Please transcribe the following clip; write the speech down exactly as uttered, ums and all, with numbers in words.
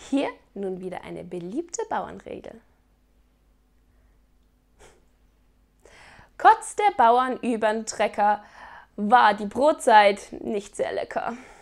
Hier nun wieder eine beliebte Bauernregel. Kotzt der Bauern übern Trecker, war die Brotzeit nicht sehr lecker.